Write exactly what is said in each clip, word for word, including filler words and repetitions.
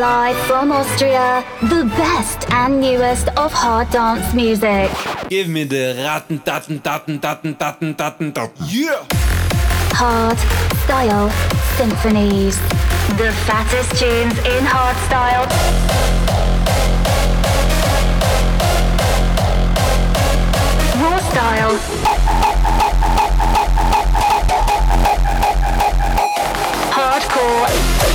Live from Austria, the best and newest of hard dance music. Give me the ratten, datten, datten, datten, datten, datten, datten. Yeah! Hard Style Symphonies. The fattest tunes in hard style. Raw style. Hardcore.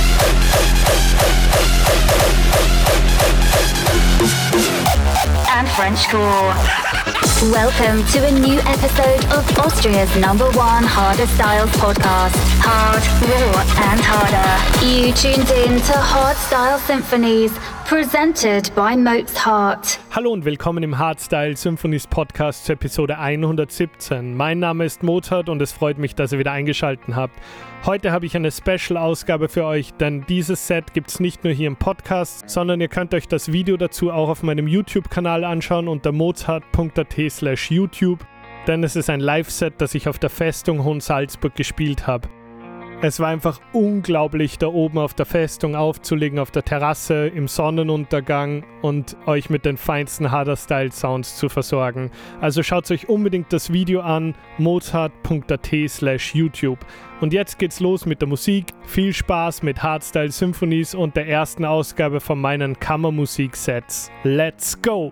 And Frenchcore. Welcome to a new episode of Austria's number one harder styles podcast. Hard, raw and harder. You tuned in to Hard Style Symphonies, presented by Mozart. Hallo und willkommen im Hardstyle Symphonies Podcast zur Episode hundertsiebzehn. Mein Name ist Mozart und es freut mich, dass ihr wieder eingeschaltet habt. Heute habe ich eine Special-Ausgabe für euch, denn dieses Set gibt es nicht nur hier im Podcast, sondern ihr könnt euch das Video dazu auch auf meinem YouTube-Kanal anschauen unter mozart punkt at slash YouTube, denn es ist ein Live-Set, das ich auf der Festung Hohensalzburg gespielt habe. Es war einfach unglaublich, da oben auf der Festung aufzulegen, auf der Terrasse, im Sonnenuntergang und euch mit den feinsten Harder-Style-Sounds zu versorgen. Also schaut euch unbedingt das Video an, mozart punkt at slash YouTube. Und jetzt geht's los mit der Musik. Viel Spaß mit Hardstyle Symphonies und der ersten Ausgabe von meinen Kammermusik-Sets. Let's go!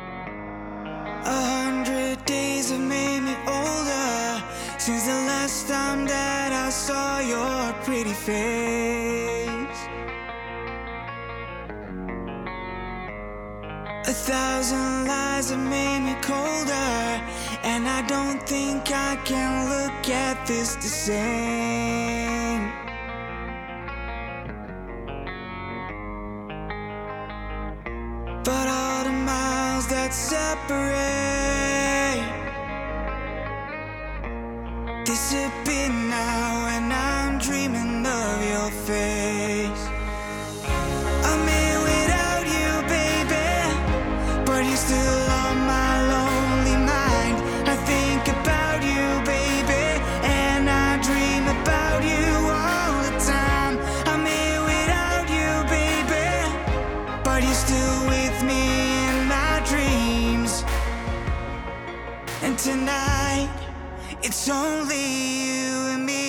A hundred days have made me older since the last time that I saw your pretty face. A thousand lies have made me colder, and I don't think I can look at this the same. But all the miles that separate disappear now, and I'm dreaming of your face. I'm here without you, baby, but you're still on my lonely mind. I think about you, baby, and I dream about you all the time. I'm here without you, baby, but you're still with me in my dreams. And tonight, it's only you and me.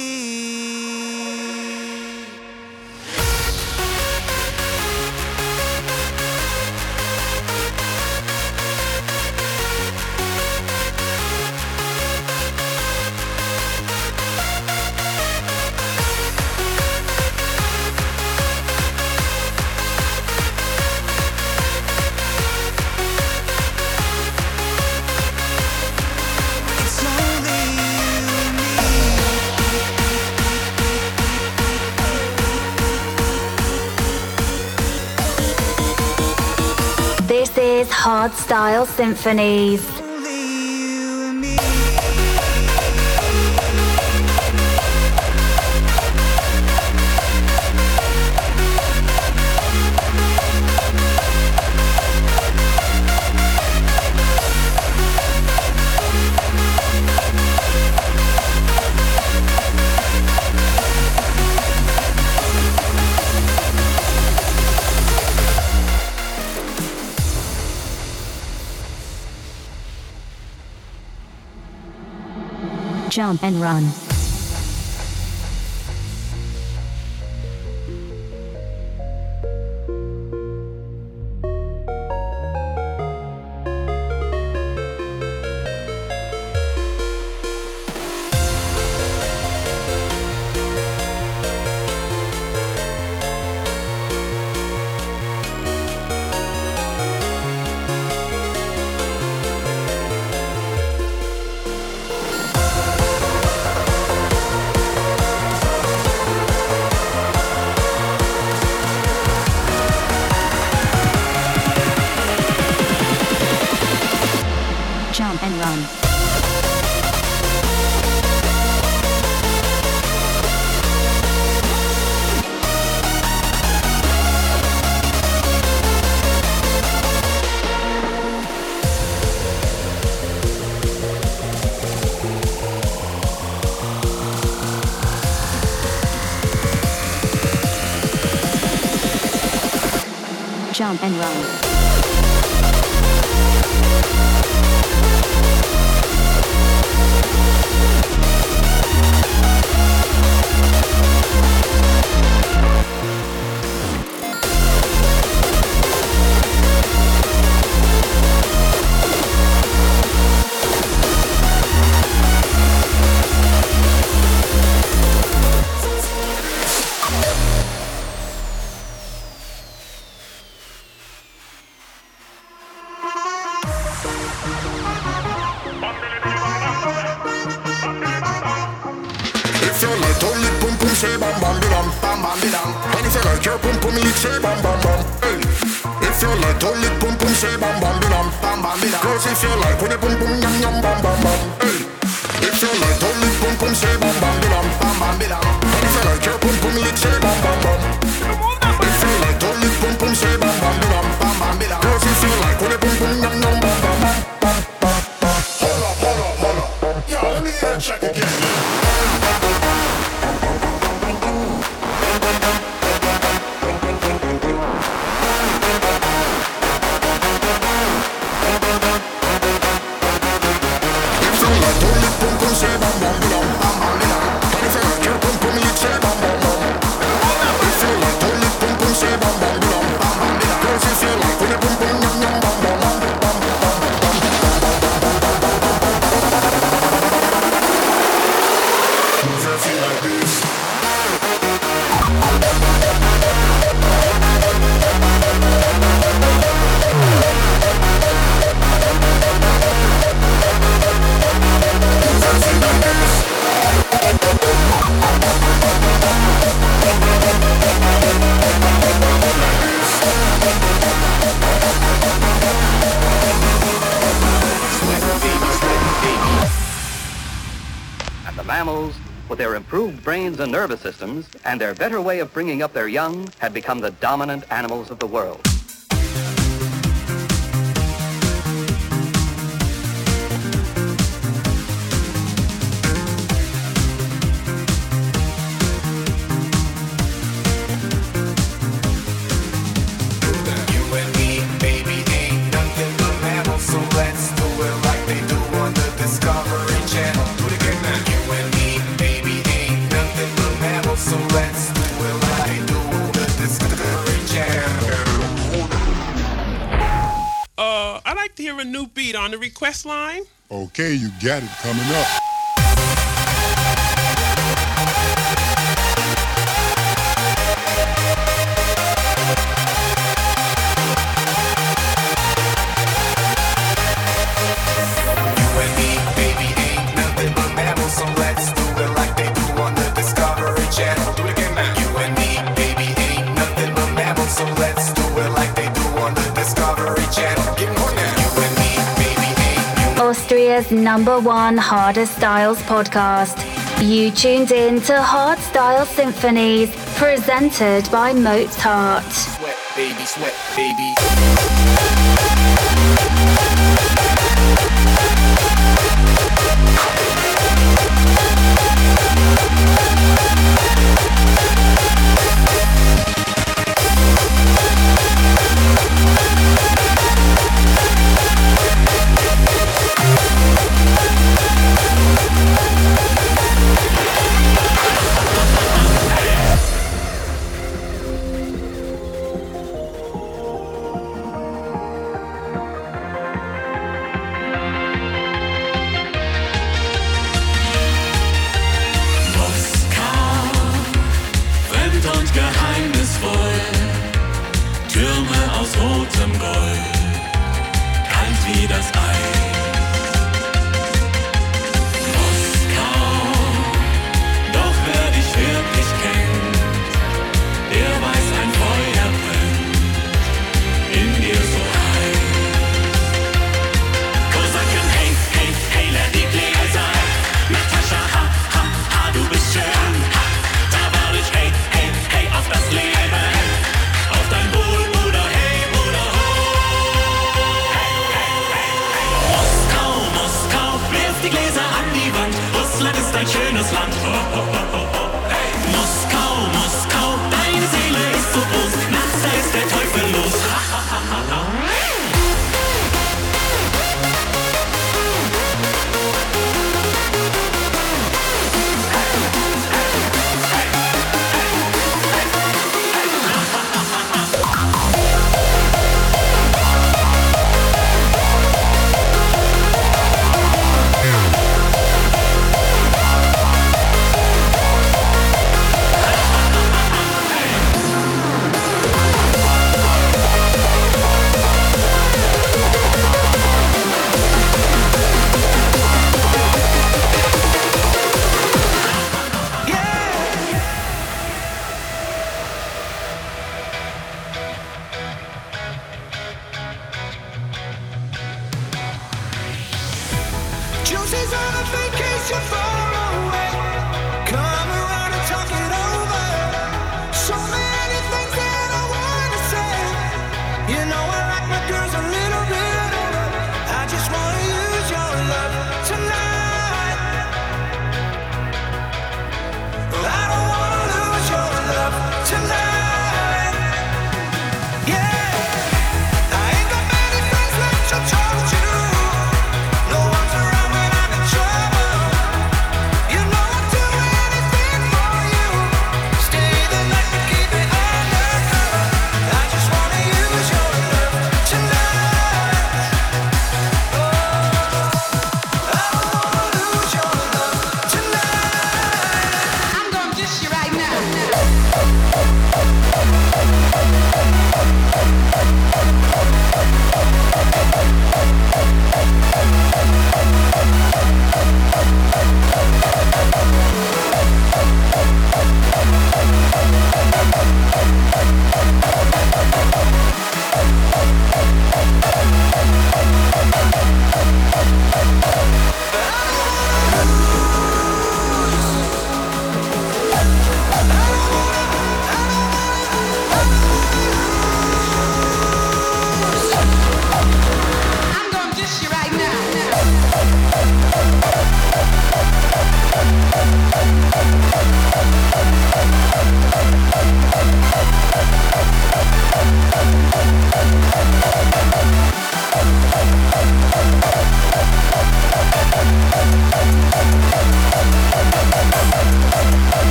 It's only you and me. This is Hard Style Symphonies. Only you and me. Jump and run. jump and run. If you like to lick pum pum, say bam bam bam bam bam bam. And if you like your pum pum lick, say bam bam bam. Hey. If you like to lick pum pum, say bam bam bam bam bam bam. Girls, if you like when you pum pum yum yum bam bam bam. Hey. If you like to lick pum pum, say bam bam bam bam bam bam. And if you like your pum pum lick, say bam bam bam. If you like to lick pum pum, say bam bam bam bam bam bam. Girls, if you like when you pum pum yum yum bam bam bam. Hold up, hold up, hold up. Yo, let me hear check again. Mammals, with their improved brains and nervous systems and their better way of bringing up their young, had become the dominant animals of the world. A new beat on the request line. Okay, you got it coming up. You and me, baby, ain't nothing but mammals, so let's do it like they do on the Discovery Channel. Do it again now. You and me, baby, ain't nothing but mammals, so let's do it like they do on the Discovery Channel. Get more now. Austria's number one Harder Styles podcast. You tuned in to Hard Style Symphonies, presented by Mozart. Sweat, baby, sweat, baby.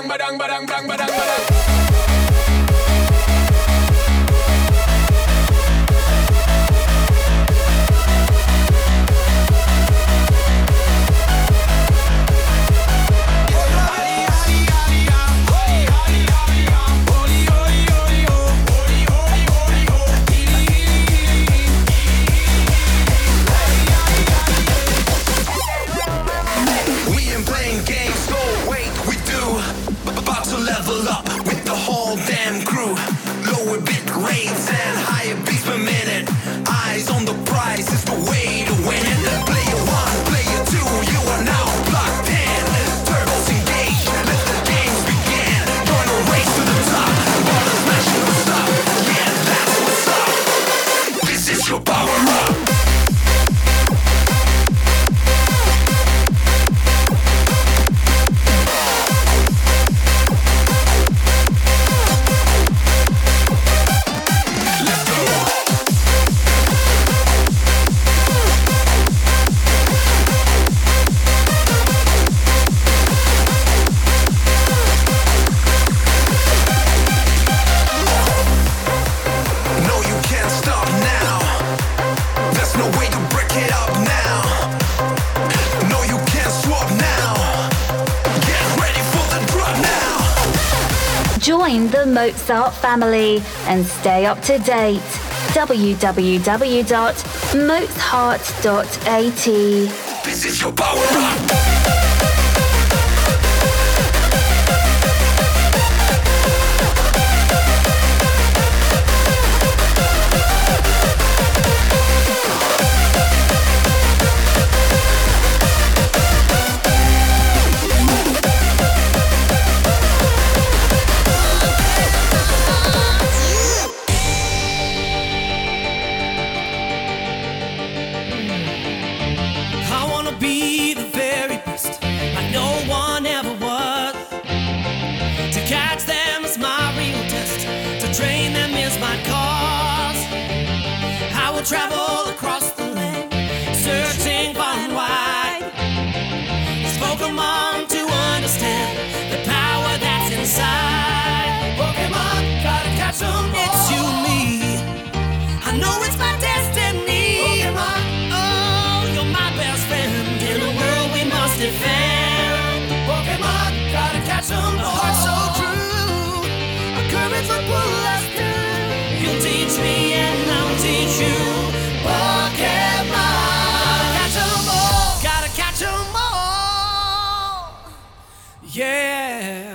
badang, badang, badang, badang, badang, badang. Level up with the whole damn crew. Lower bit rates and higher beats per minute. Eyes on the prize is the way to win it. Player one, player two, you are now plugged in. Turbos engaged, let the games begin. Join a race to the top, bottom smashing the stop. Yeah, that's what's up. This is your power up. Join the Mozart family and stay up to date. w w w dot mozart dot a t. This is your power up. Travel across the land, searching far and wide. It's Pokemon to understand the power that's inside. Pokemon, gotta catch 'em all. It's you and me. I know it's my destiny. Pokemon, oh, you're my best friend in a world we must defend. Pokemon, gotta catch 'em all. Heart so true, our courage will pull us through. You'll teach me and I'll teach you. Pokemon, catch 'em all, gotta catch 'em all, yeah.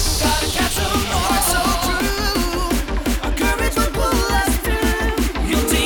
You'll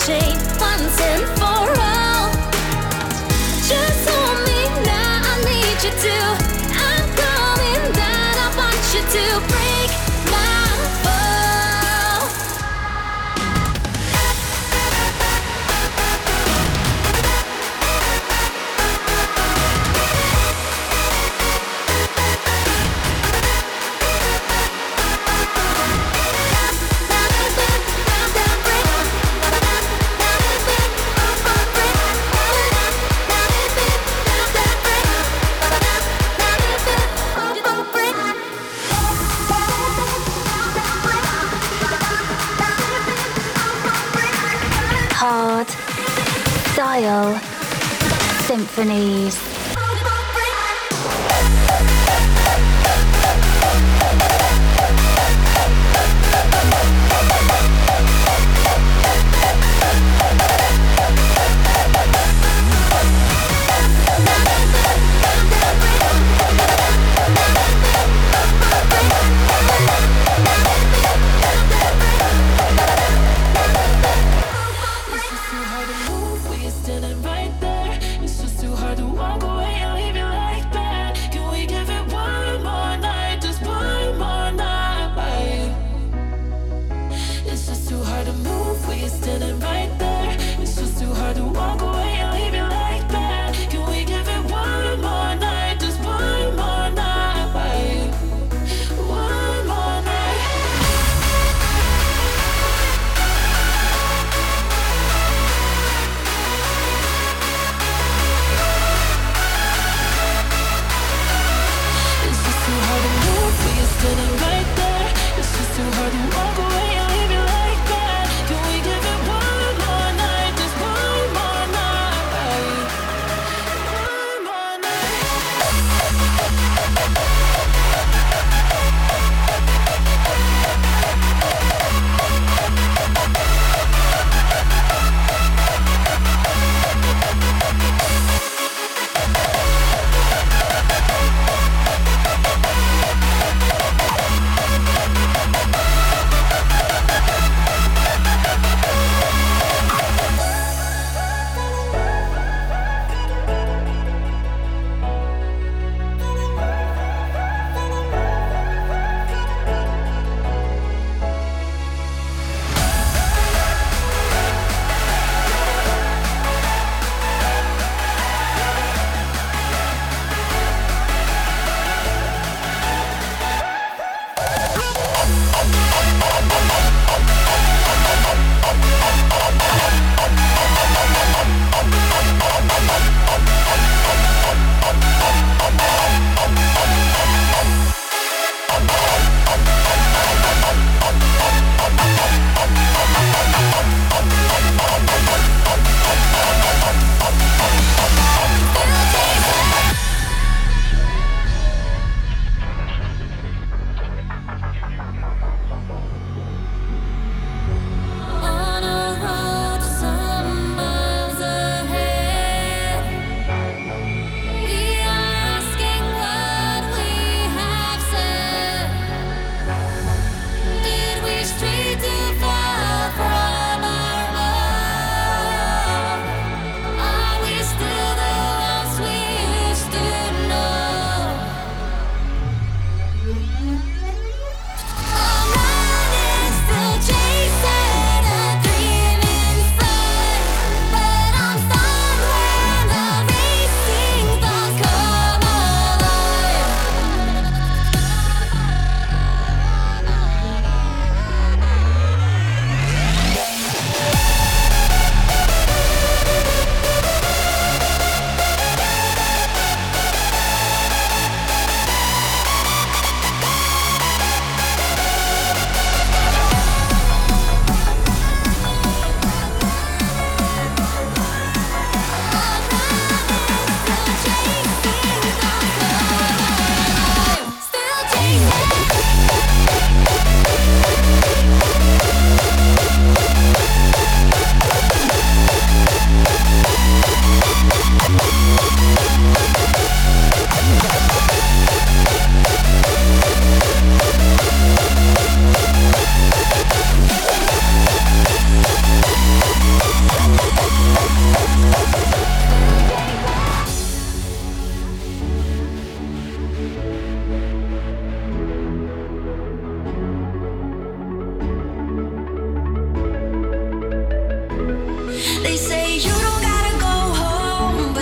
chain once and for all. Just hold me now, I need you to. I'm coming down, I want you to break my fall. Hard Style Symphonies. Standing right there, it's just too hard to walk away and leave you like that. Can we give it one more night, just one more night? It's just too hard to move when you're standing right there. It's just too hard to walk away and leave you like that. Can we give it one more night, just one more night? One more night. Standing right there, it's just too hard to walk away and leave you like that. Can we give it one more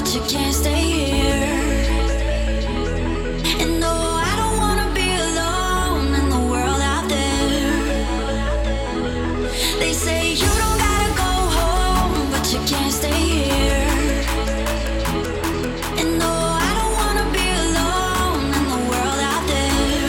you can't stay here. And no, I don't wanna be alone in the world out there. They say you don't gotta go home, but you can't stay here. And no, I don't wanna be alone in the world out there.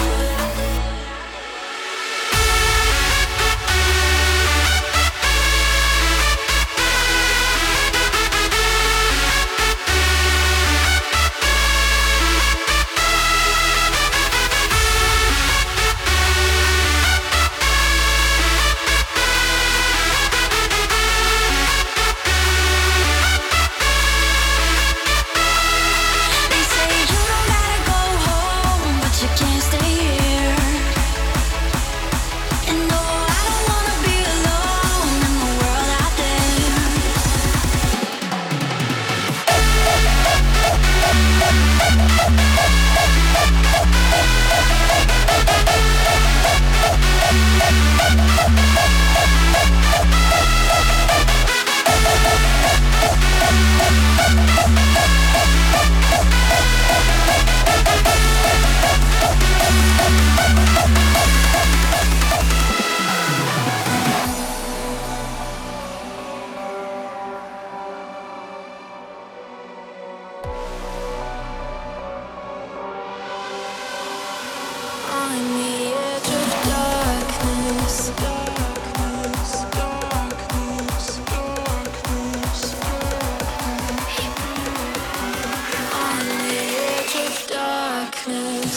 They say you don't gotta go home, but you can't stay here. And no, I don't wanna be alone in the world out there. On the edge of darkness, darkness, darkness, darkness, on the edge of darkness.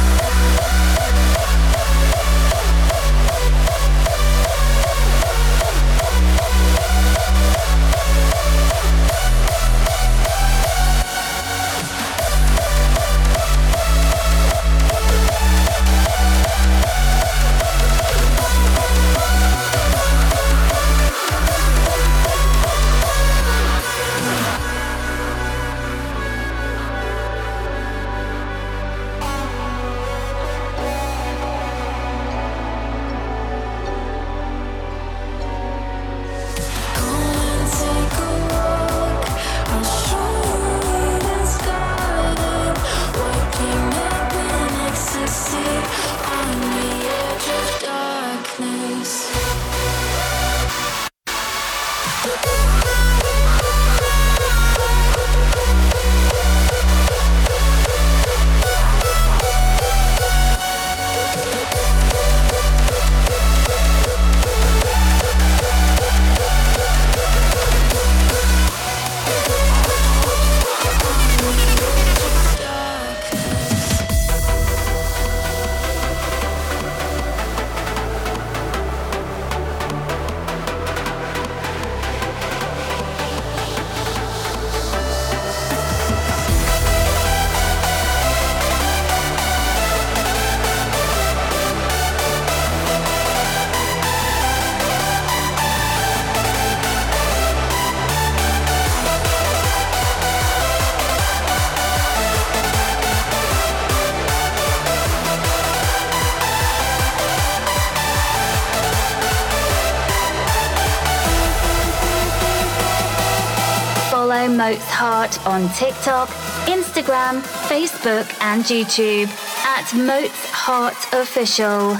Follow Moat's Heart on TikTok, Instagram, Facebook, and YouTube at Moat's Heart Official.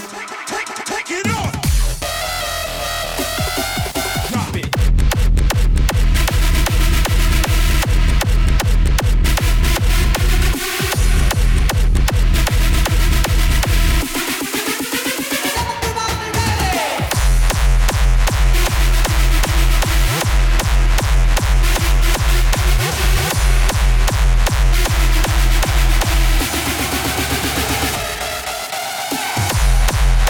We'll be right back.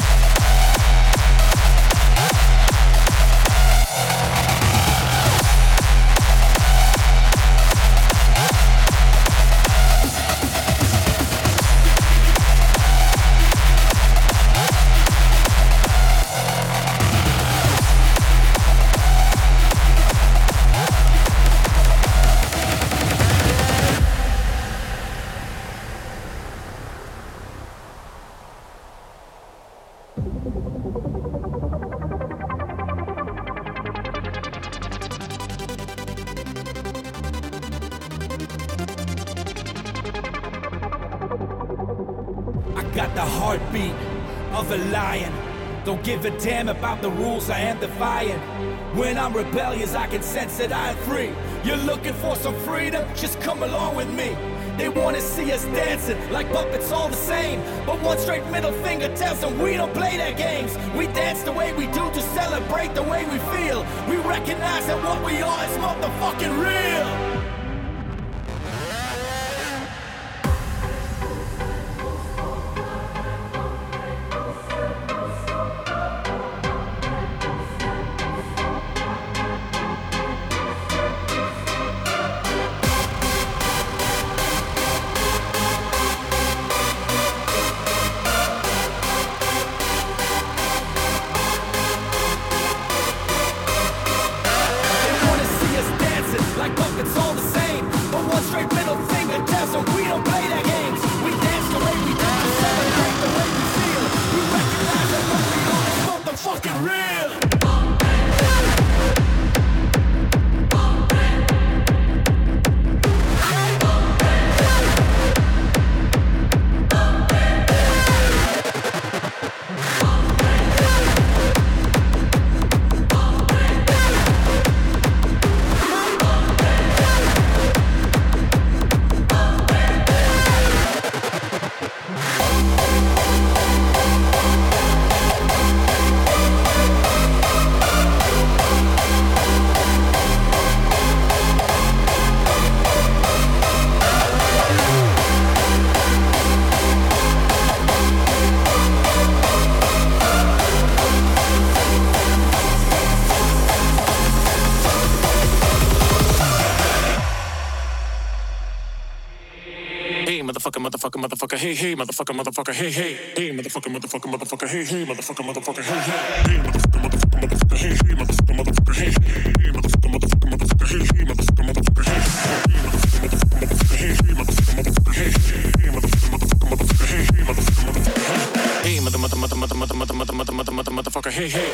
got the heartbeat of a lion. Don't give a damn about the rules I am defying. When I'm rebellious, I can sense that I am free. You're looking for some freedom? Just come along with me. They wanna see us dancing like puppets all the same. But one straight middle finger tells them we don't play their games. We dance the way we do to celebrate the way we feel. We recognize that what we are is motherfucking real. Motherfucker, motherfucker, hey, hey, motherfucker, motherfucker, hey, hey, hey, motherfucker, motherfucker, motherfucker, hey, hey, motherfucker, motherfucker, hey, hey, hey, motherfucker, motherfucker, motherfucker, hey, hey, motherfucker, motherfucker, hey, hey, motherfucker, motherfucker, motherfucker, hey, hey, motherfucker, motherfucker, hey, hey, motherfucker, motherfucker, hey, hey, motherfucker, motherfucker, motherfucker, hey, hey, motherfucker, motherfucker, hey, mother, mother, mother, mother, mother, mother, mother, mother, mother, mother, motherfucker, hey, hey.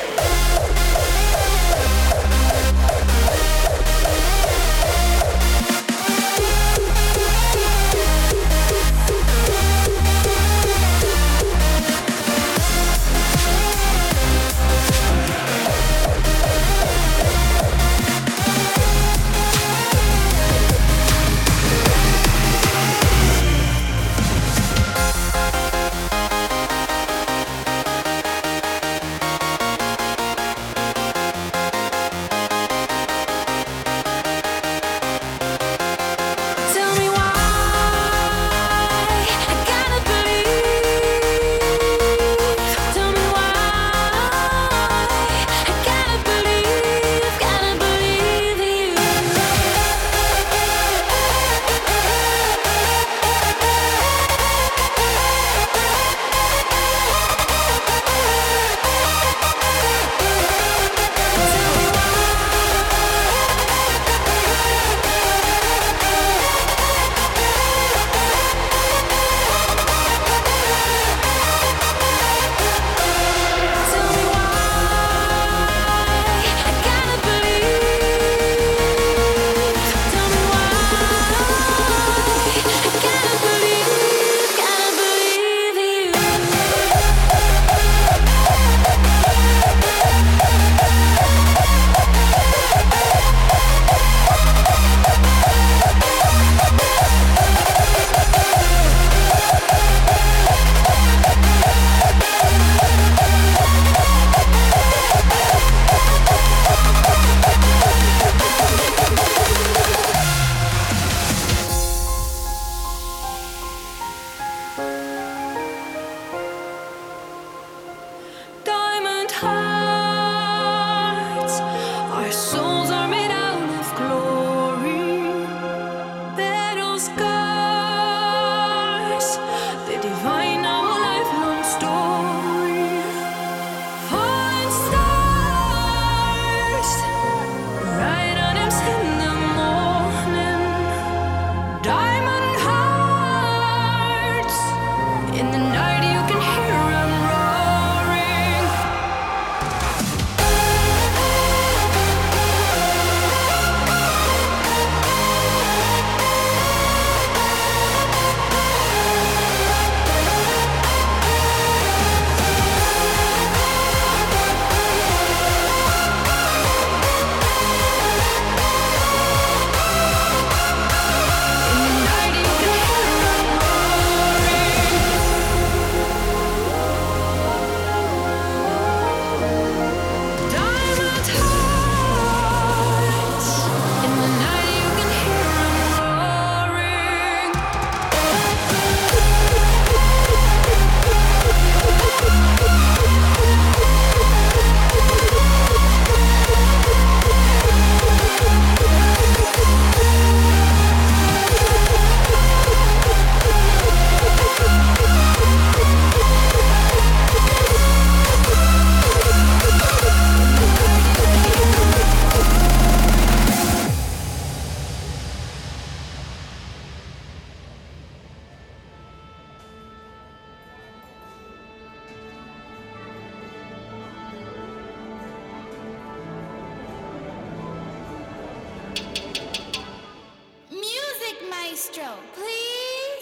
Music maestro, please.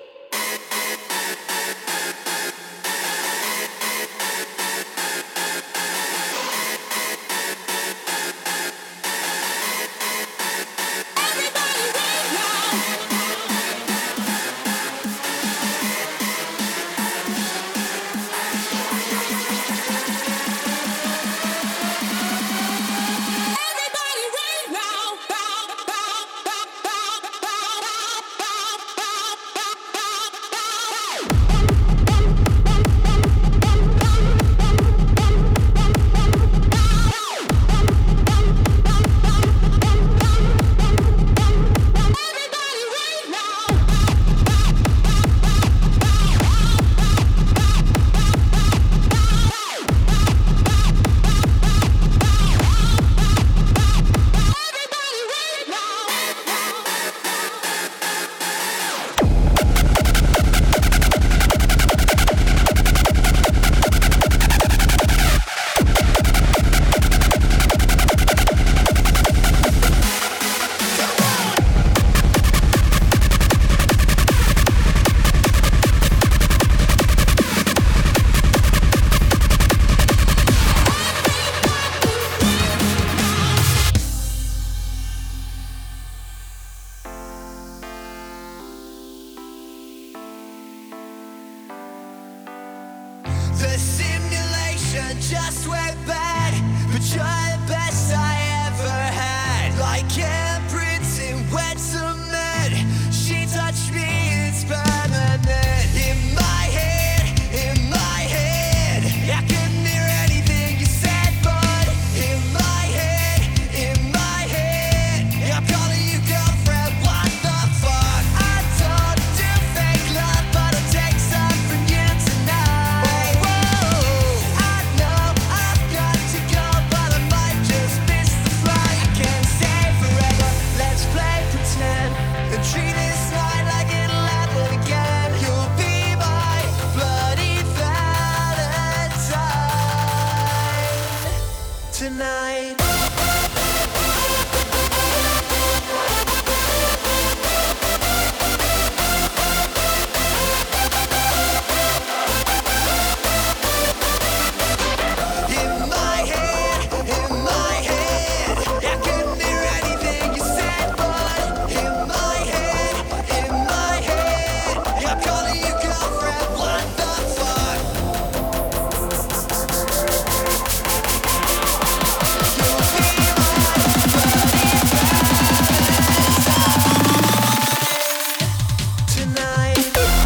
The simulation just went bad, but you're the best I ever had. Like handprints in wet cement, she touched me, it's permanent. In my head, in my head, I couldn't hear anything you said, but in my head, in my head, I'm calling you girlfriend, what the fuck? I don't do fake love, but I'll take some from you tonight. I know I've got to go, but I might just miss the flight. I can't stay forever, let's play pretend and treat this night like it'll happen again. You'll be my bloody Valentine tonight. In my head, in my head, I couldn't hear anything you said, but in my head, in my head, I'm calling you girlfriend, what the fuck? You'll be my bloody Valentine tonight.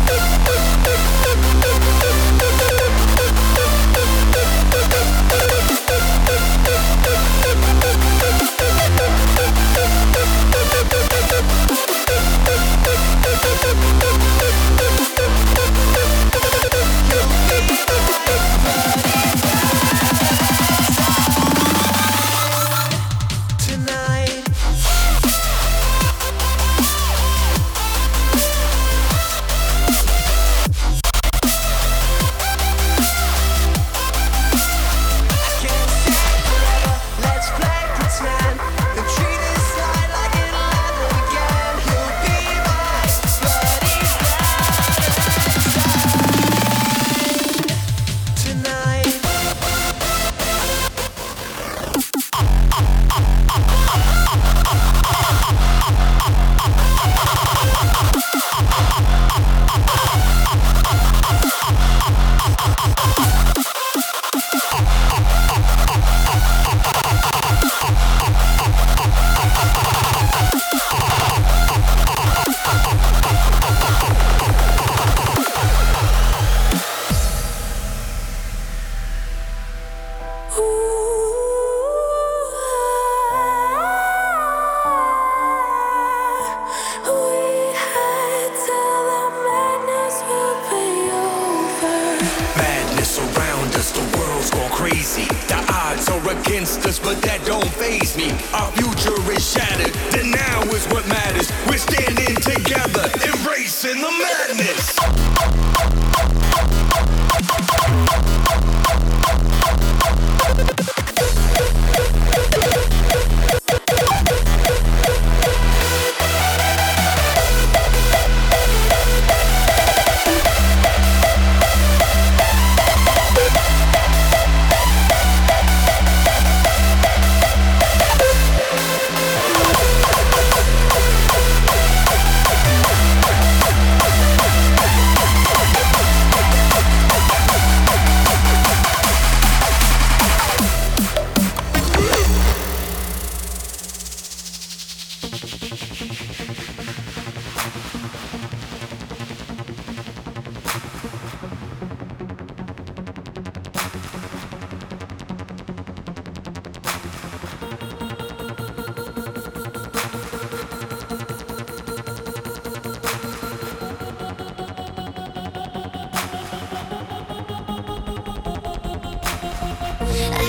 Tonight. Let's play pretend and treat this night like it'll happen again. You'll be my bloody Valentine tonight. Madness around us, the world's gone crazy. The odds are against us, but that don't faze me. Our future is shattered, the now is what matters. We're standing together, embracing the madness.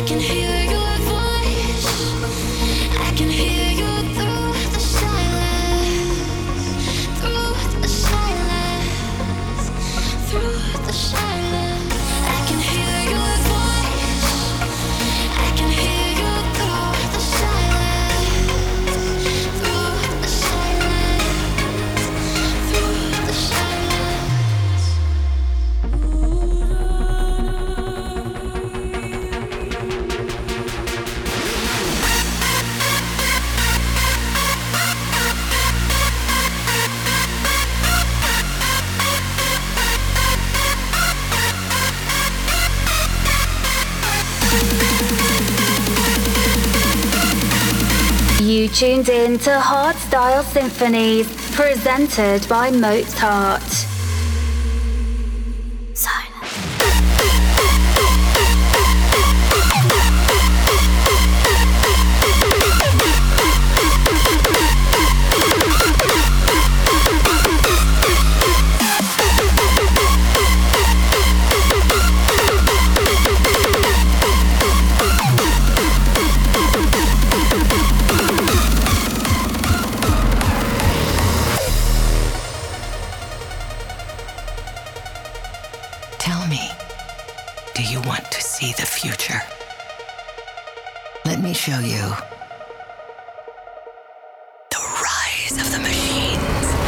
can hear your voice. I can hear you through the silence. Through the silence. Through the silence. I can hear your voice. I can hear you through the silence. Through the silence. Through the silence. You tuned in to Hardstyle Symphonies, presented by Mozart. Tell me, do you want to see the future? Let me show you the rise of the machines.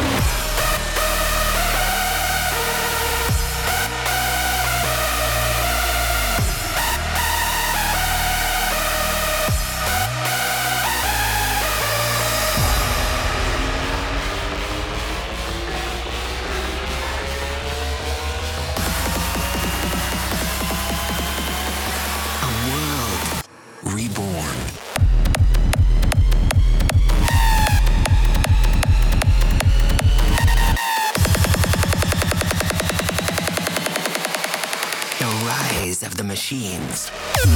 Reborn. The rise of the machines.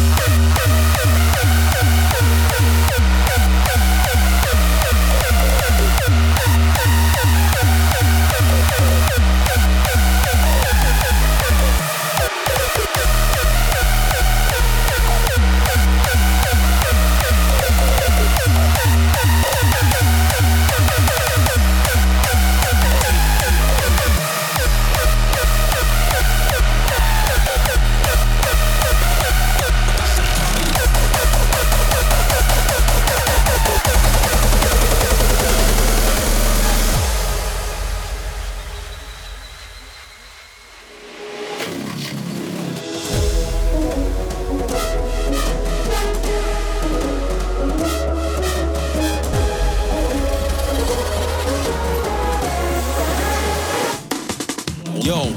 Yo.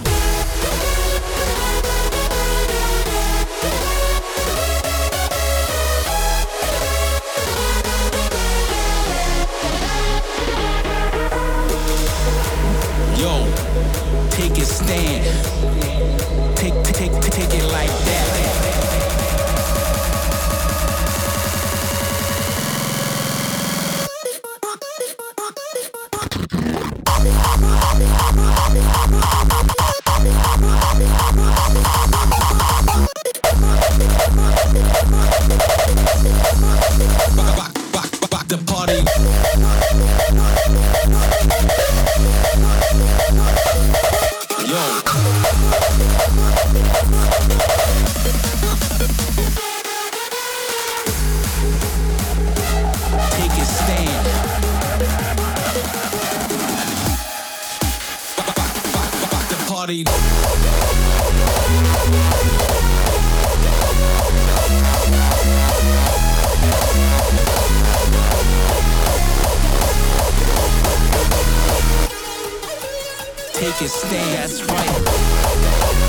Yo, take a stand. Take, take, take, take it like that. Rock, rock, rock the party. Yo. Take a stand. Rock, rock, rock, rock the party. Take a stand, that's right.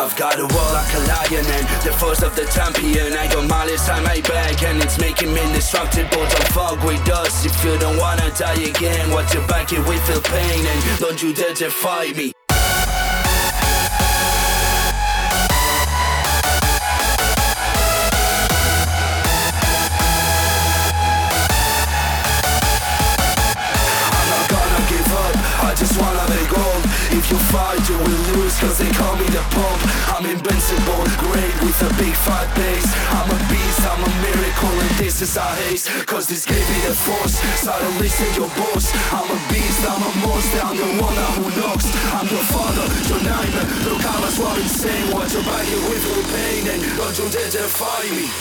I've got a war like a lion and the force of the champion. I got malice on my back and it's making me indestructible. Don't fuck with us if you don't wanna die again. Watch your back if we feel pain and don't you dare to fight me. I just wanna be gold. If you fight you will lose cause they call me the Pope. I'm invincible, great with a big fat bass. I'm a beast, I'm a miracle and this is a haze. Cause this gave me the force, so don't listen your boss. I'm a beast, I'm a monster, I'm the one who knocks. I'm your father, your nightmare. Look I was what insane. Watch your body with full pain and don't you dare to fight me.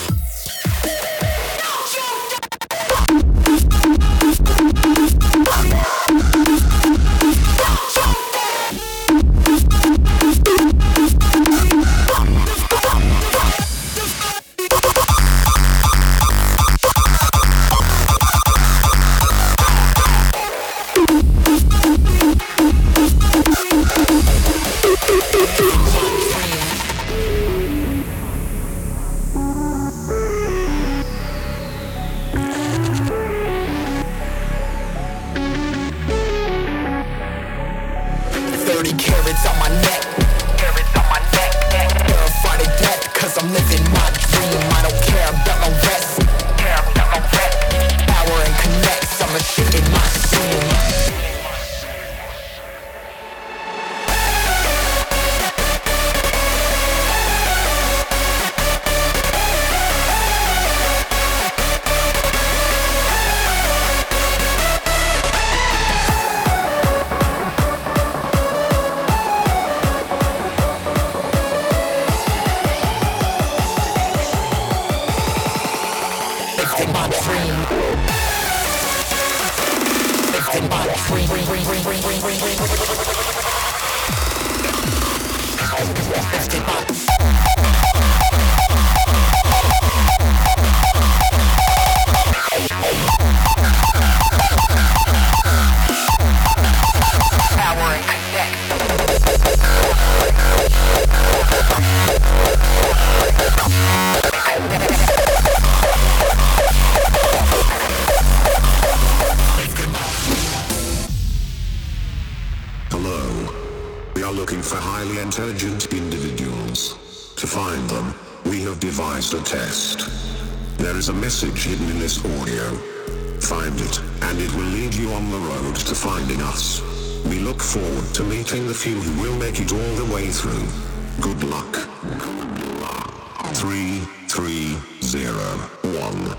thirty carats on my neck. Carats on my neck. Terrified of death, cause I'm living my dream. I don't care about no rest. Care about no rest. Power and connects, I'm a shit in my scene. Intelligent individuals. To find them, we have devised a test. There is a message hidden in this audio. Find it, and it will lead you on the road to finding us. We look forward to meeting the few who will make it all the way through. Good luck. Three, three, zero, one.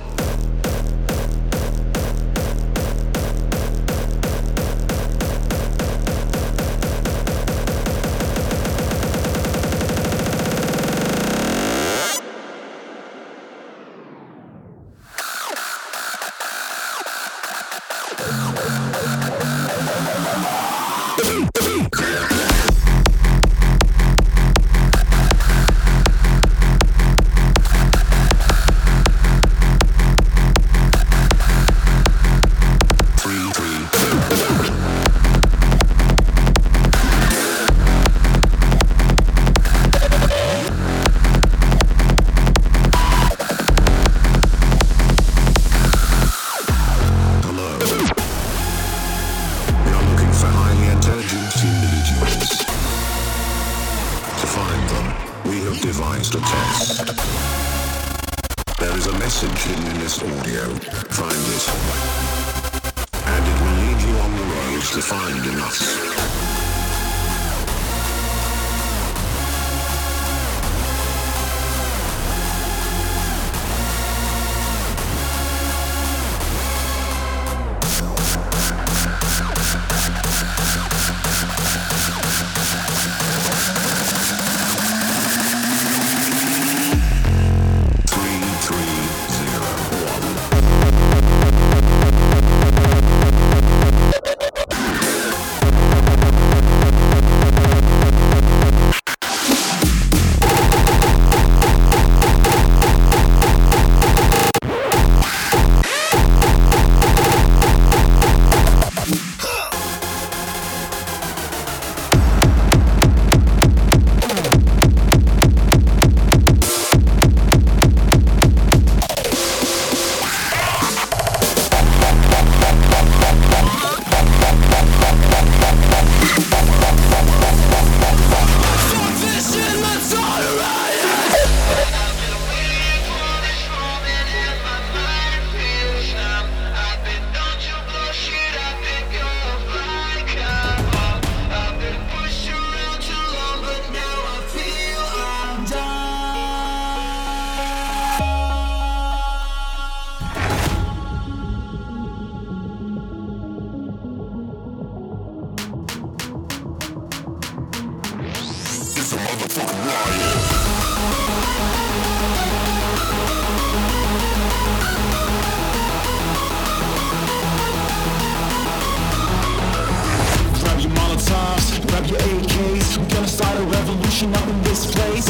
motherfucking riot. Grab your Molotovs, grab your A Ks. We're gonna start a revolution up in this place.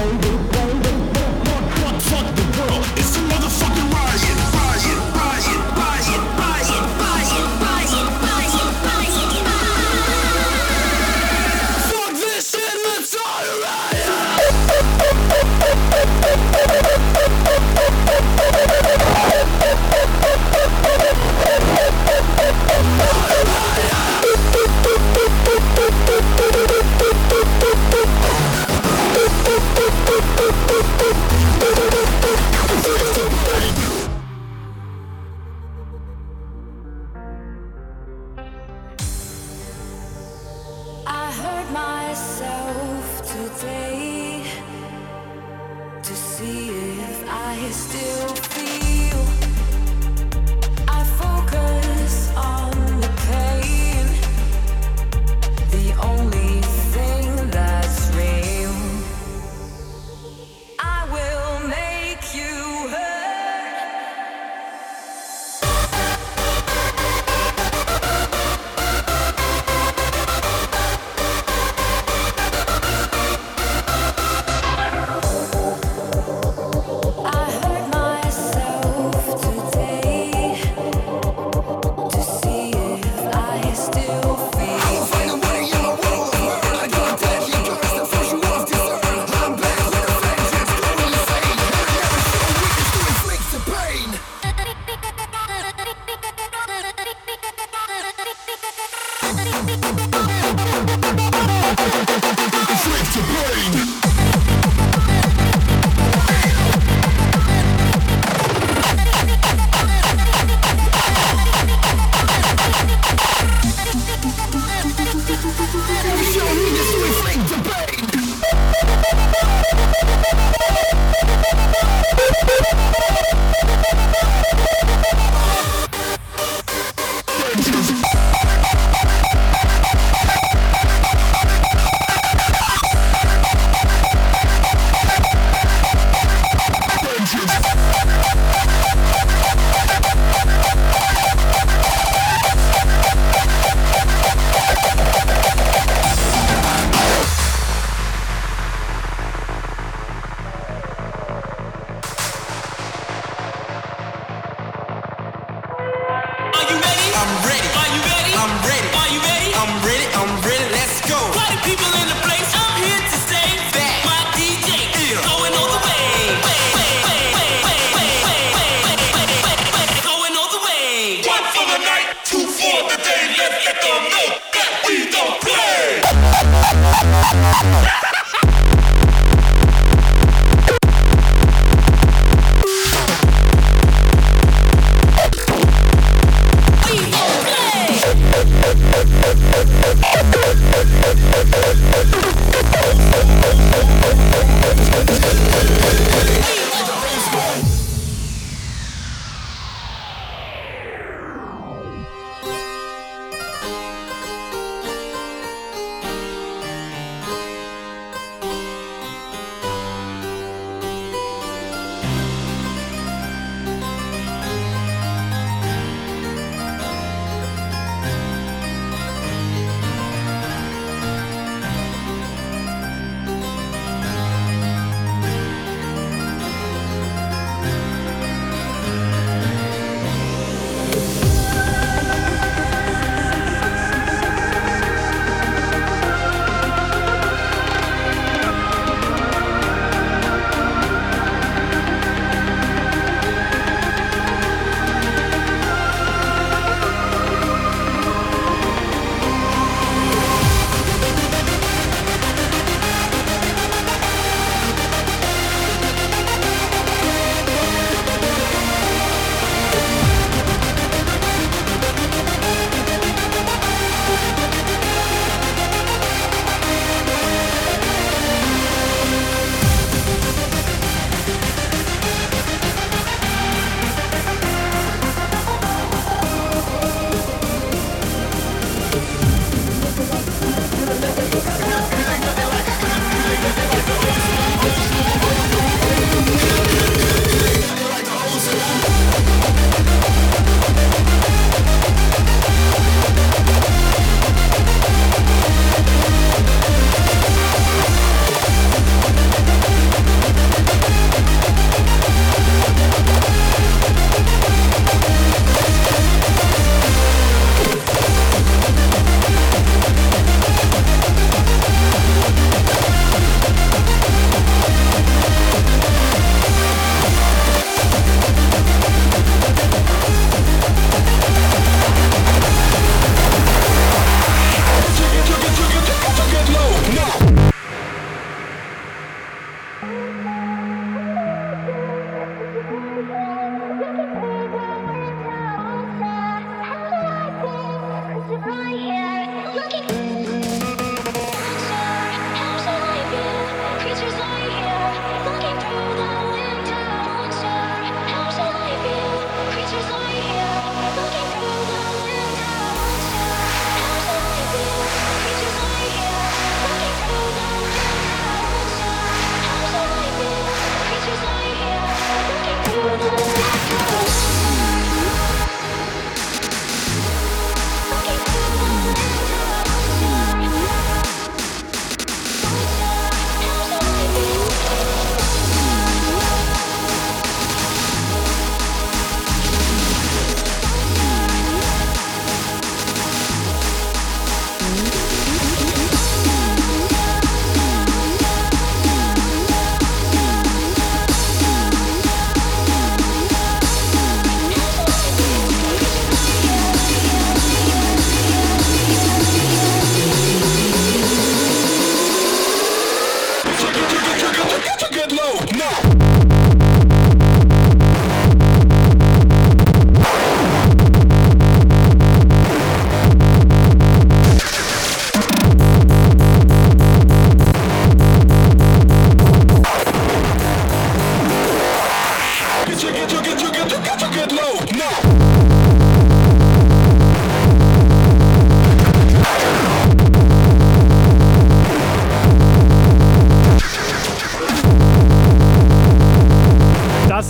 Fuck the world, it's a motherfucking riot. Riot, riot, riot, riot, riot, riot, riot, riot, riot. Fuck this shit, let's start a I hurt myself today to see if I still feel. I focus on the pain, the only thing that's real. I will make you hurt. I hurt myself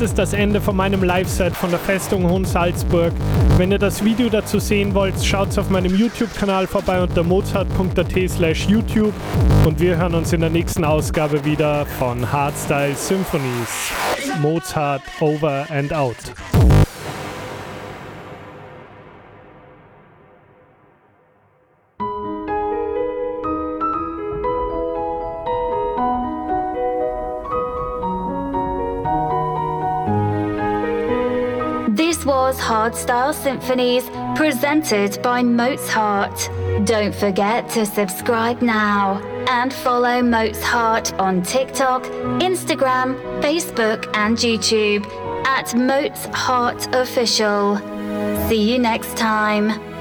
ist das Ende von meinem Live-Set von der Festung Hohen Salzburg. Wenn ihr das Video dazu sehen wollt, schaut auf meinem YouTube-Kanal vorbei unter mozart punkt at slash YouTube und wir hören uns in der nächsten Ausgabe wieder von Hardstyle Symphonies. Mozart over and out. This was Hardstyle Symphonies, presented by Mozart. Don't forget to subscribe now and follow Mozart on TikTok, Instagram, Facebook and YouTube at Mozart Official. See you next time.